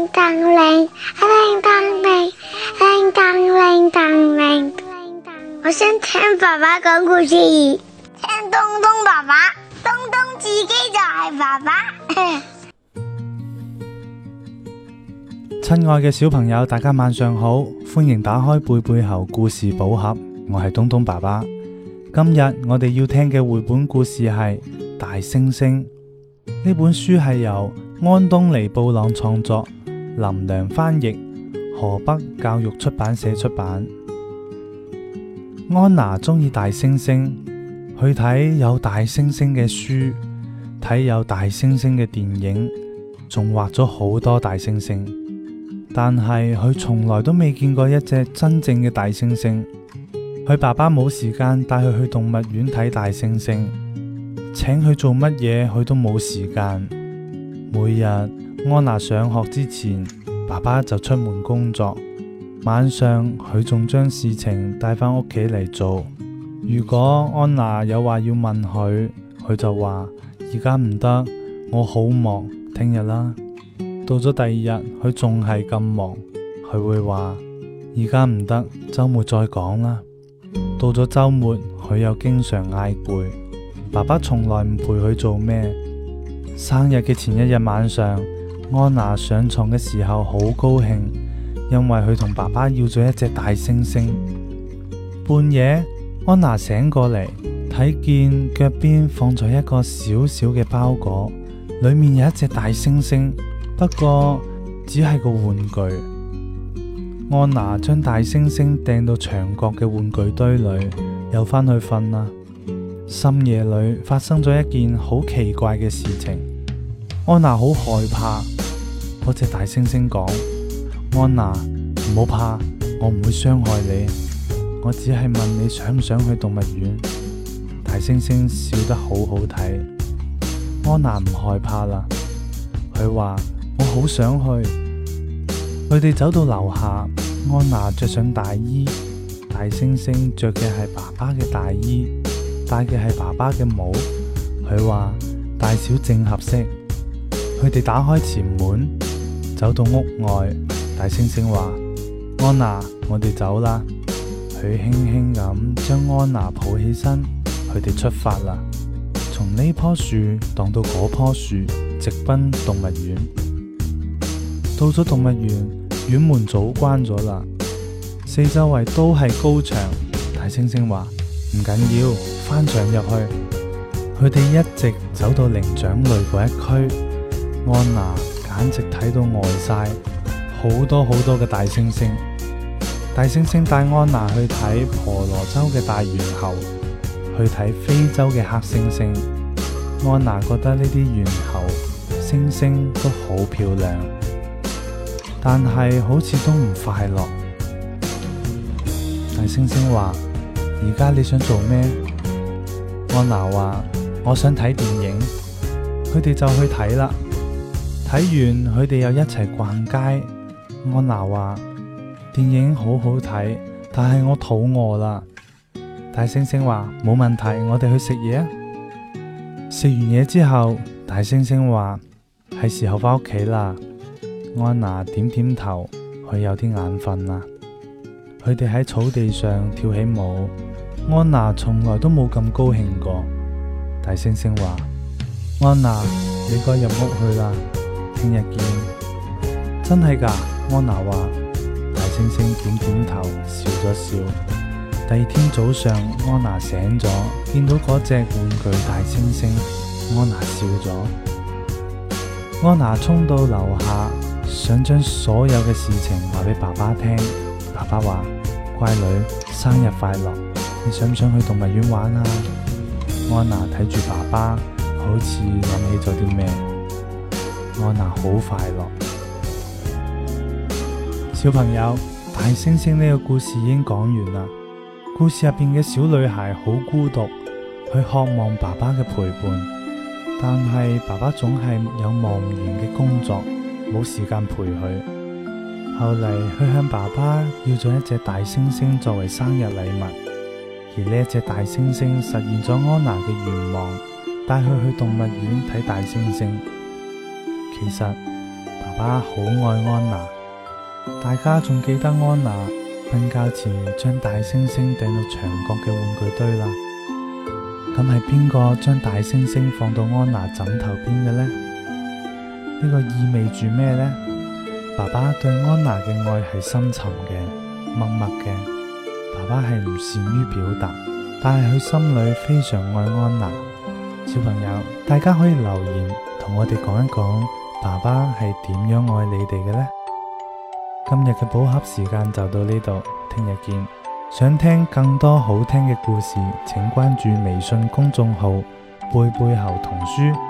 叮當鈴，叮當鈴，叮當鈴當鈴。我想聽爸爸講故事，聽東東爸爸，東東自己就係爸爸。 親愛嘅小朋友，大家晚上好，歡迎打開貝貝猴故事寶盒，我係東東爸爸。今日我哋要聽嘅繪本故事係大猩猩。呢本書係由安東尼布朗創作，林良翻譯，河北教育出版社出版。安娜鍾意大猩猩，去睇有大猩猩嘅書，睇有大猩猩嘅電影，仲畫咗好多大猩猩。但係佢從來都未見過一隻真正嘅大猩猩。佢爸爸冇時間帶佢去動物園睇大猩猩，請佢做乜嘢佢都冇時間。每日安娜上學之前，爸爸就出門工作，晚上佢仲將事情帶返屋企嚟做。如果安娜有話要問佢，佢就話而家唔得，我好忙，聽日啦。到咗第二日，佢仲係咁忙，佢會話而家唔得，周末再講啦。到咗周末，佢又經常嗌攰，爸爸從來唔陪佢做咩。生日嘅前一日晚上，安娜上床嘅時候好高興，因為佢同爸爸要咗一隻大猩猩。半夜，安娜醒過嚟，睇見腳邊放咗一個小小嘅包裹，裏面有一隻大猩猩，不過只係個玩具。安娜將大猩猩掟到牆角嘅玩具堆裏，又返去瞓啦。深夜裏發生咗一件好奇怪嘅事情，安娜好害怕。嗰隻大猩猩講：安娜，唔好怕，我唔會傷害你，我只係問你想唔想去動物園。大猩猩笑得好好睇，安娜唔害怕啦。佢話：我好想去。佢哋走到樓下，安娜着上大衣，大猩猩着嘅係爸爸嘅大衣，戴嘅係爸爸嘅帽。佢話大小正合適。佢哋打開前門，走到屋外，大猩猩話：安娜，我哋走啦。佢輕輕咁將安娜抱起身，佢哋出發啦。從呢棵樹蕩到嗰棵樹，直奔動物園。到咗動物園，園門早關咗啦，四周圍都係高牆。大猩猩話：唔緊要，翻牆入去。佢哋一直走到靈長類嗰一區，安娜簡直睇到呆晒，好多好多嘅大猩猩。大猩猩帶安娜去睇婆羅洲嘅大猿猴，去睇非洲嘅黑猩猩。安娜覺得呢啲猿猴、猩猩都好漂亮，但係好似都唔快樂。大猩猩話：而家你想做咩？安娜話：我想睇電影。佢哋就去睇啦。睇完佢哋又一齊逛街。安娜話：電影好好睇，但係我肚餓啦。大猩猩話：冇問題，我哋去食嘢啊。食完嘢之後，大猩猩話：係時候返屋企啦。安娜點點頭，佢有啲眼瞓啦。佢哋喺草地上跳起舞，安娜從來都冇咁高興過。大猩猩話：安娜，你該入屋去啦，聽日見。真係㗎？安娜話。大猩猩點點頭，笑咗笑。第二天早上，安娜醒咗，見到嗰隻玩具大猩猩，安娜笑咗。安娜衝到樓下，想將所有嘅事情話俾爸爸聽。爸爸話：乖女，生日快樂，你想唔想去動物園玩啊？安娜睇住爸爸，好似諗起咗啲咩。安娜好快樂。小朋友，大猩猩呢個故事已經講完啦。故事入邊嘅小女孩好孤獨，佢渴望爸爸嘅陪伴，但係爸爸總係有忙唔完嘅工作，冇時間陪佢。後嚟佢向爸爸要咗一隻大猩猩作為生日禮物，而呢一隻大猩猩實現咗安娜嘅願望，帶佢去動物園睇大猩猩。其實爸爸好愛安娜。大家仲記得安娜瞓覺前將大猩猩掟到牆角嘅玩具堆啦。咁係邊個將大猩猩放到安娜枕頭邊嘅呢？呢個意味住咩呢？爸爸對安娜嘅愛係深沉嘅、默默嘅。爸爸係唔善於表達，但係佢心裏非常愛安娜。小朋友，大家可以留言同我哋講一講，爸爸係點樣愛你哋嘅呢？今日嘅寶盒時間就到呢度，聽日見。想聽更多好聽嘅故事，請關注微信公眾號貝貝猴童書。